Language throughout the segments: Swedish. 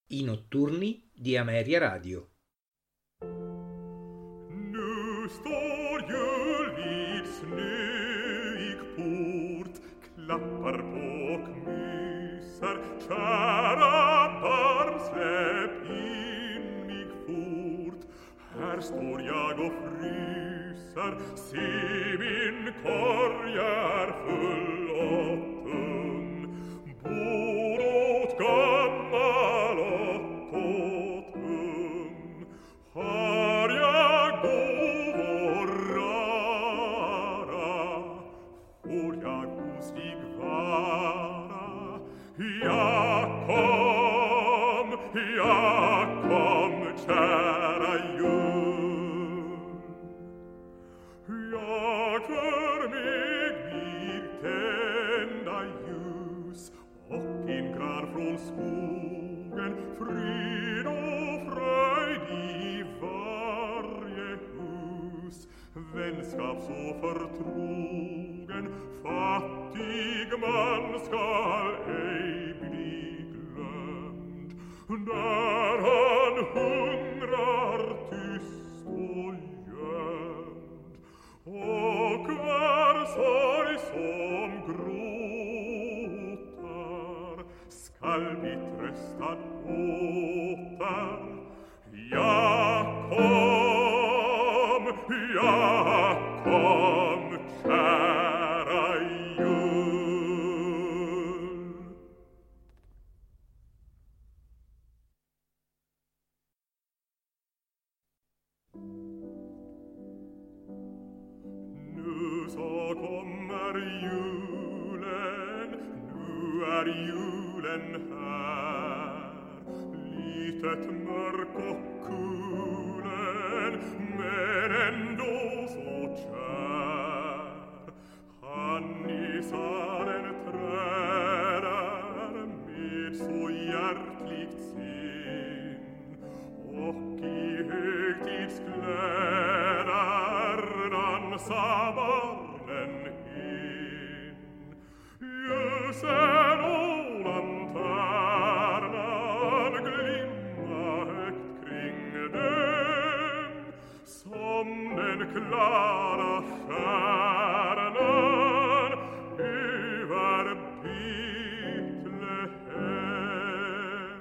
I notturni di Ameria Radio. Nu står jullidsnöig port, klappar på och myser. Kära barn, släpp in mig fort. Här står jag och fryser, se min korg är full och tung. Bor åt gammal och åt ung. Har jag gåvor rara, får jag ostig vara. Jag kom, kära jul. Jag för mig vill tända ljus och en gran från skogen, frid och fröjd i varje hus. Vänskap så förtrogen, fattig man skall ej bli glömd. Där han hungrar tyst och gömd, och var sorg som gråtar skall bli tröstad åter. Jag kom, kära jul. Nu så kommer julen, nu är julen här. Litet mörk och kulen, men ändå så kär. Han i salen träder med så hjärtligt sin, och i högtidskläder dansar barnen in. Ljusen och lanternan glimma högt kring dem, som den klara stjärnan över Betlehem.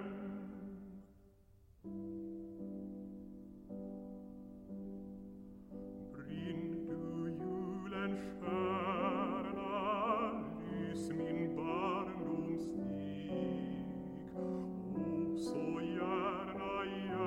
Brinn du julens stjärna, lys min barndomsstig, och så gärna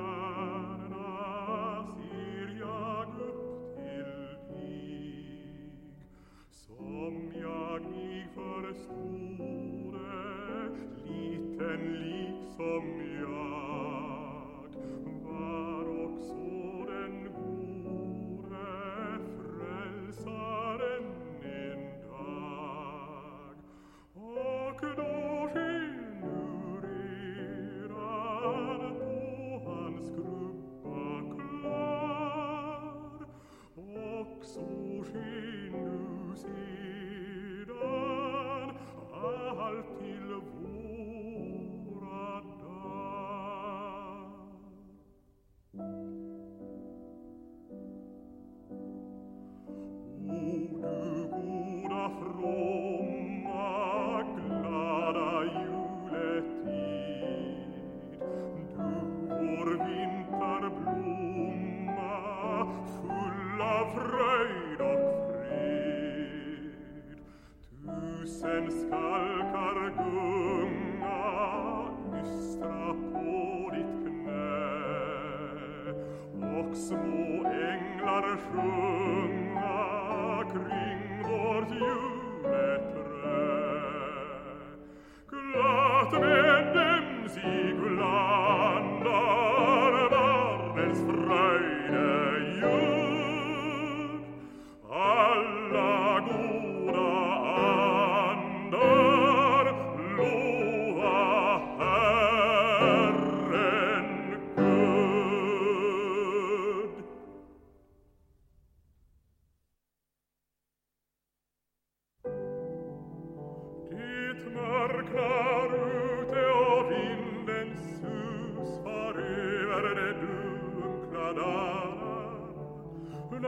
ser jag upp till dig. Som jag mig förstode, liten liksom jag, var också den gode frälsaren en dag. Och då sken ur eran på hans krubba klar, och så sken nu sedan allt till våra dag. O du goda fromma, glada juletid, du vår vinterblomma, full av fröjd och fred. Tusen skalkar gunga, ystra på ditt knä, och små änglar sjunga kring vårt juleträ. Glatt med dem sig blandar barnens fröjdeljud. Alla goda andar lova Herren Gud.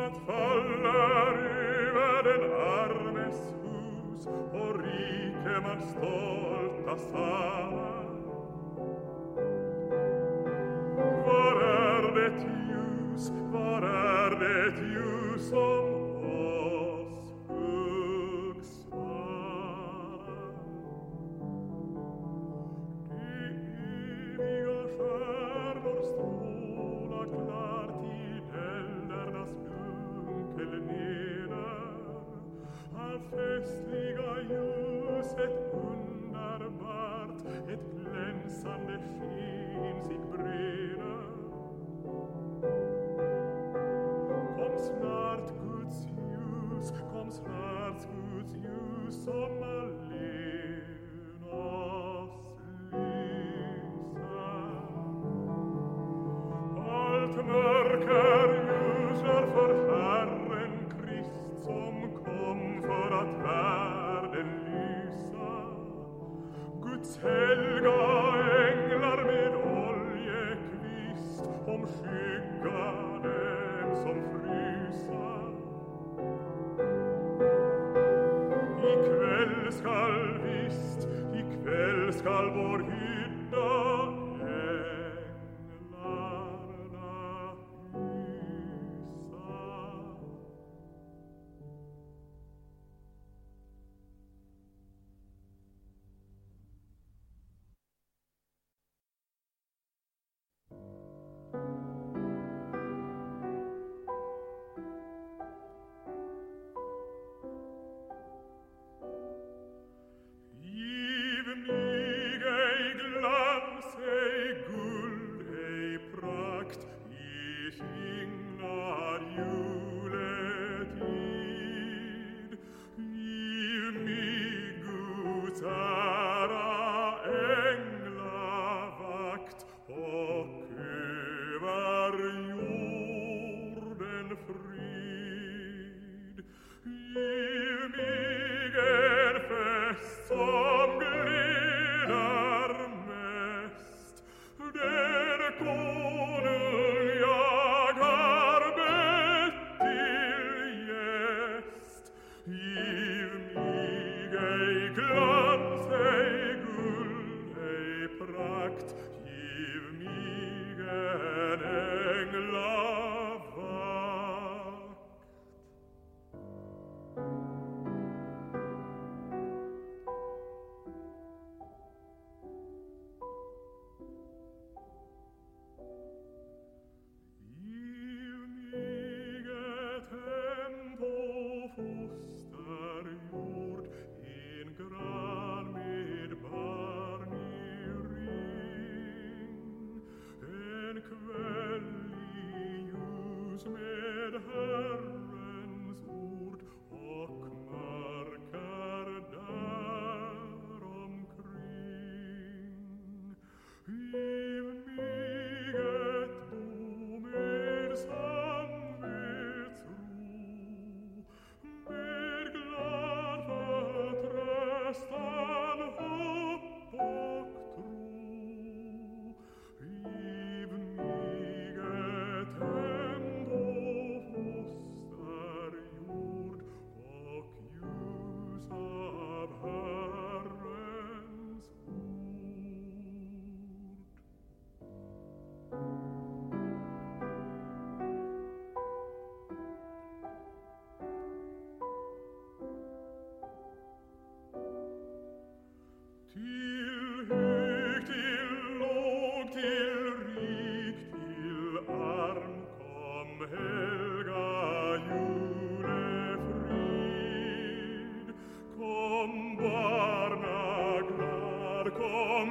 att faller över den armes hus och rikemans stolta sal. Var är det ljus, var är det ljus som oss hugsvarar? De eviga stjärnor stråla klart i eldarnas dunkel neder. Allt festliga ljus, ett underbart, ett glänsande sken sig breder. Kom snart Guds ljus, kom snart Guds ljus som allen oss lyser. Allt mörker ljusar för Herren Krist som kom för att världen lysa. Guds helga änglar med oljekvist omskygga dem som frysa. Ikväll skall vår hydda änglarna hysa. Giv mig ej glans, ej guld, ej prakt i signad juletid. Giv mig Guds ära, änglavakt och över jorden frid. Giv mig en fest som gläder mest, den konung jag har bett till gäst. Giv mig ej glans, ej guld, ej prakt, giv mig en änglavakt. Giv mig ett hem på fosterjord, en gran med barn i ring, en kväll i ljus med Herrens ord och mörker där omkring. Giv mig ett bo med samvetsro, med glad förtröstan, hopp och tro. Giv mig ett hem på fosterjord och ljus av Herrens till hög, till låg, till rik, till arm, kom helga julefrid. Kom barnaglad, kom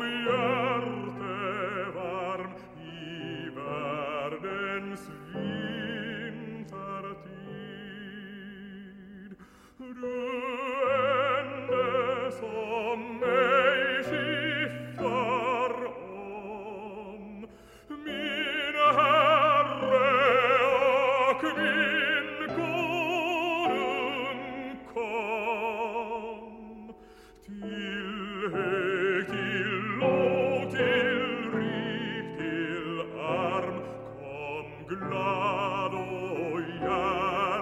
hjärtevarm i världens vintertid. Du ende som mig skiftar om, min Herre och min konung, kom. Till hög, till låg, till rik, till arm, kom glad och hjärtevarm.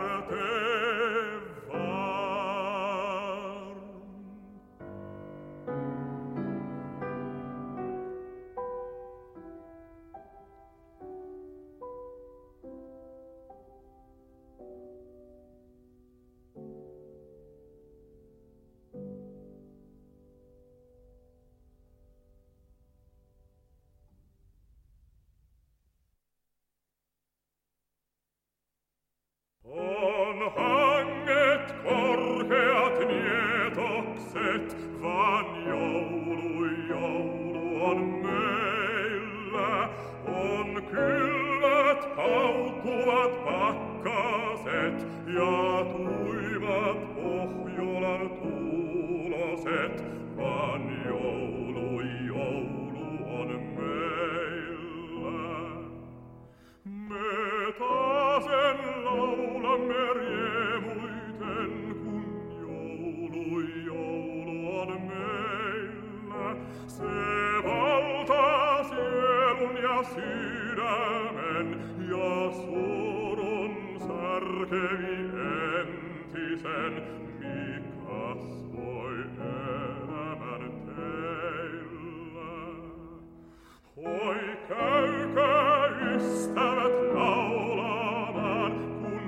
hanget korkeat nietokset, vaan joulu on meillä. On kylmät paukkuvat pakkaset ja tuivat Pohjolan tuuloset, vaan joulu on meillä. Me taasen laulamme riemuiten, kun joulu on meillä. Se valtaa sielun ja sydämen ja surun särkevi entisen, mikäs voi elämän teillä. Oi käykää ystävät laulamaan, kun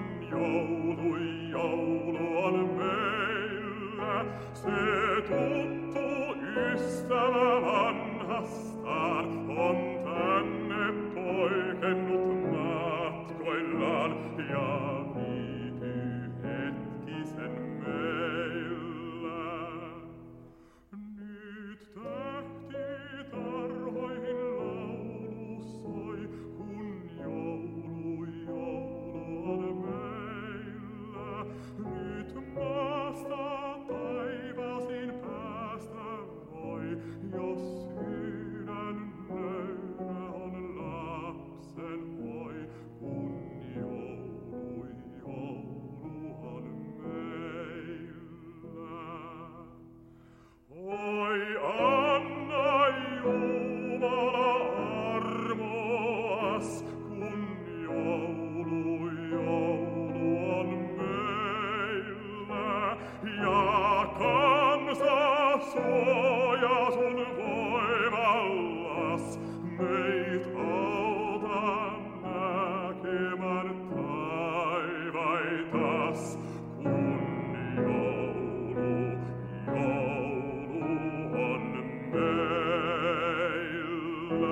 joulu on meillä. Se tuttu ystävä vanhastaan on tänne poikennut matkoillaan ja viipyy hetkisen meillä. Nyt tähti tarhoihin laulu soi, kun joulu on meillä. Nyt maasta taivaasin päästä voi, jos sydän löydä on lapsen voi, kun joulu on meillä. Oi anna Jumala armoas, kun joulu on meillä. Ja kansa suoja sun voimallas, meit auta näkemään taivaitas, kun joulu on meillä.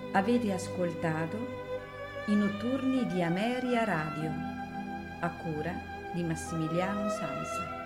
Avete ascoltato i notturni di Ameria Radio, a cura di Massimiliano Sanza.